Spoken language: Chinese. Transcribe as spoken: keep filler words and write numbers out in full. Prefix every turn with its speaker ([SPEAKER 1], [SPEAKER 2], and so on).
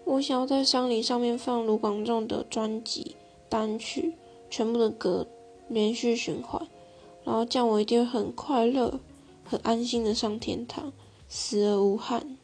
[SPEAKER 1] 我想要在丧礼上面放卢广仲的专辑单曲，全部的歌连续循环，然后这样我一定会很快乐很安心的上天堂，死而无憾。